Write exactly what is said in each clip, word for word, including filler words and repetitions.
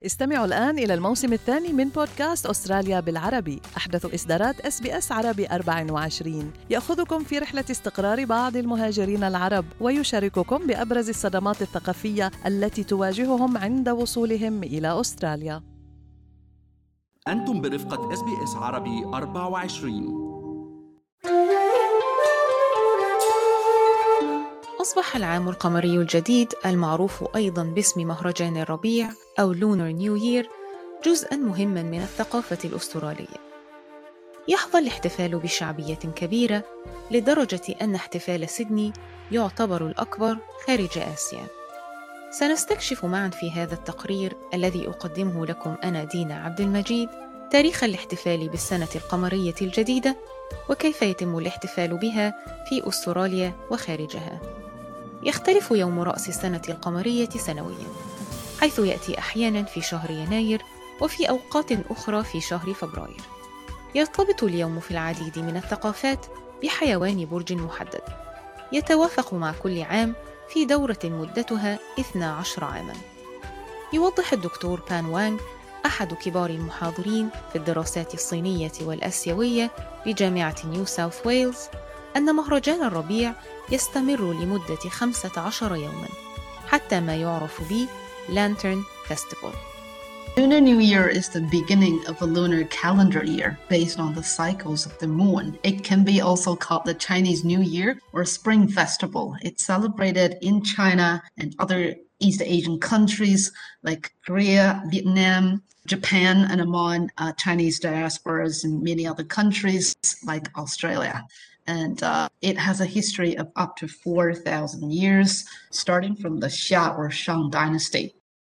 استمعوا الآن إلى الموسم الثاني من بودكاست أستراليا بالعربي، أحدث إصدارات إس بي إس عربي أربعة وعشرين، يأخذكم في رحلة استقرار بعض المهاجرين العرب ويشارككم بأبرز الصدمات الثقافية التي تواجههم عند وصولهم إلى أستراليا. أنتم برفقة إس بي إس عربي أربعة وعشرين. أصبح العام القمري الجديد المعروف أيضاً باسم مهرجان الربيع أو لونر نيو يير جزءاً مهماً من الثقافة الأسترالية. يحظى الاحتفال بشعبية كبيرة لدرجة أن احتفال سيدني يعتبر الأكبر خارج آسيا. سنستكشف معاً في هذا التقرير الذي أقدمه لكم أنا دينا عبد المجيد تاريخ الاحتفال بالسنة القمرية الجديدة وكيف يتم الاحتفال بها في أستراليا وخارجها. يختلف يوم رأس السنة القمرية سنوياً، حيث يأتي أحياناً في شهر يناير وفي أوقات أخرى في شهر فبراير. يرتبط اليوم في العديد من الثقافات بحيوان برج محدد يتوافق مع كل عام في دورة مدتها اثنا عشر عاماً. يوضح الدكتور بان وانغ أحد كبار المحاضرين في الدراسات الصينية والآسيوية بجامعة نيو ساوث ويلز أن مهرجان الربيع يستمر لمدة خمسة عشر يوماً حتى ما يعرف ب Lantern Festival. Lunar New Year is the beginning of a lunar calendar year based on the cycles of the moon. It can be also called the Chinese New Year or Spring Festival. It's celebrated in China and other East Asian countries like Korea, Vietnam, Japan, and among uh, Chinese diasporas in many other countries like Australia. And uh, it has a history of up to four thousand years, starting from the Xia or Shang dynasty.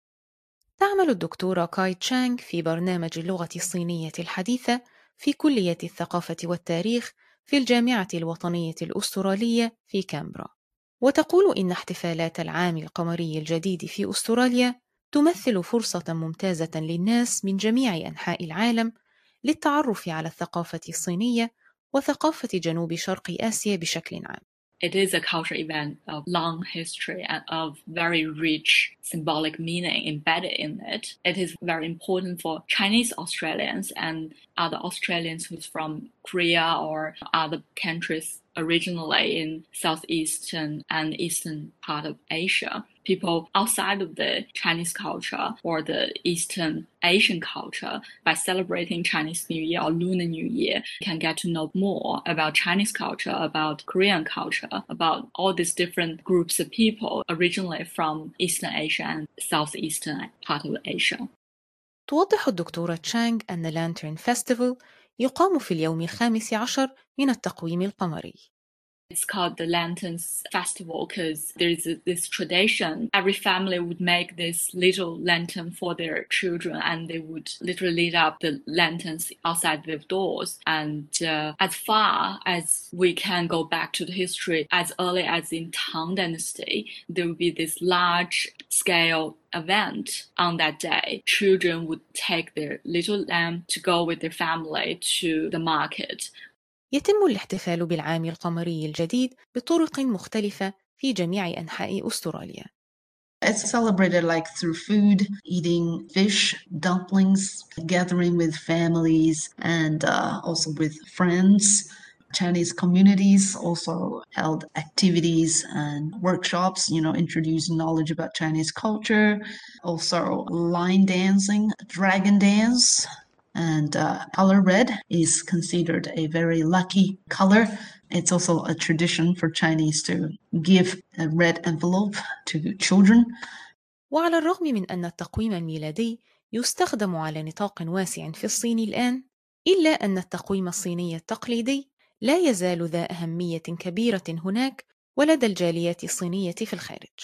تعمل الدكتورة كاي تشانغ في برنامج اللغة الصينية الحديثة في كلية الثقافة والتاريخ في الجامعة الوطنية الأسترالية في كامبرا، وتقول إن احتفالات العام القمري الجديد في أستراليا تمثل فرصة ممتازة للناس من جميع أنحاء العالم للتعرف على الثقافة الصينية وثقافة جنوب شرق آسيا بشكل عام. It is a cultural event of long history and of very rich symbolic meaning embedded in it. It is very important for Chinese Australians and other Australians who's from Korea or other countries originally in southeastern and eastern part of Asia. People outside of the Chinese culture or the Eastern Asian culture, by celebrating Chinese New Year or Lunar New Year, can get to know more about Chinese culture, about Korean culture, about all these different groups of people originally from Eastern Asia and southeastern part of Asia. توضح الدكتورة تشانغ أن لانترن فيستيفال يقام في اليوم الخامس عشر من التقويم القمري. It's called the Lanterns Festival because there is this tradition. Every family would make this little lantern for their children and they would literally light up the lanterns outside their doors. And uh, as far as we can go back to the history, as early as in Tang Dynasty, there would be this large scale event on that day. Children would take their little lamb to go with their family to the market. يتم الاحتفال بالعام القمري الجديد بطرق مختلفة في جميع أنحاء أستراليا. It's celebrated like through food, eating fish, dumplings, gathering with families, and uh, also with friends. Chinese communities also held activities and workshops, you know, introducing knowledge about Chinese culture. Also line dancing, dragon dance. And uh, color red is considered a very lucky color. It's also a tradition for Chinese to give a red envelope to children. وعلى الرغم من أن التقويم الميلادي يستخدم على نطاق واسع في الصين الآن، إلا أن التقويم الصيني التقليدي لا يزال ذا أهمية كبيرة هناك ولدى الجاليات الصينية في الخارج.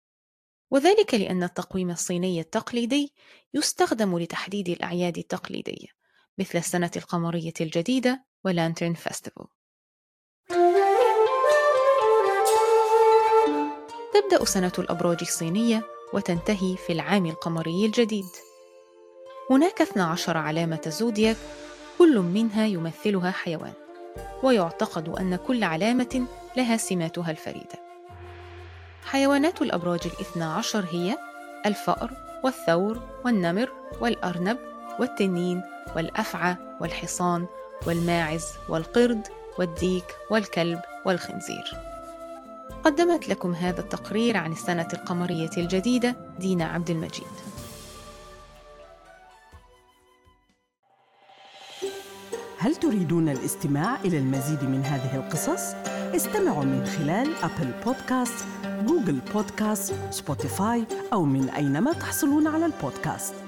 وذلك لأن التقويم الصيني التقليدي يستخدم لتحديد الأعياد التقليدية مثل السنة القمرية الجديدة ولانترن فيستيفال. تبدأ سنة الأبراج الصينية وتنتهي في العام القمري الجديد. هناك اثنا عشر علامة زودياك كل منها يمثلها حيوان، ويعتقد أن كل علامة لها سماتها الفريدة. حيوانات الأبراج الاثنى عشر هي الفأر والثور والنمر والأرنب والتنين والأفعى والحصان والماعز والقرد والديك والكلب والخنزير. قدمت لكم هذا التقرير عن السنة القمرية الجديدة دينا عبد المجيد. هل تريدون الاستماع إلى المزيد من هذه القصص؟ استمعوا من خلال أبل بودكاست، جوجل بودكاست، سبوتيفاي أو من أينما تحصلون على البودكاست.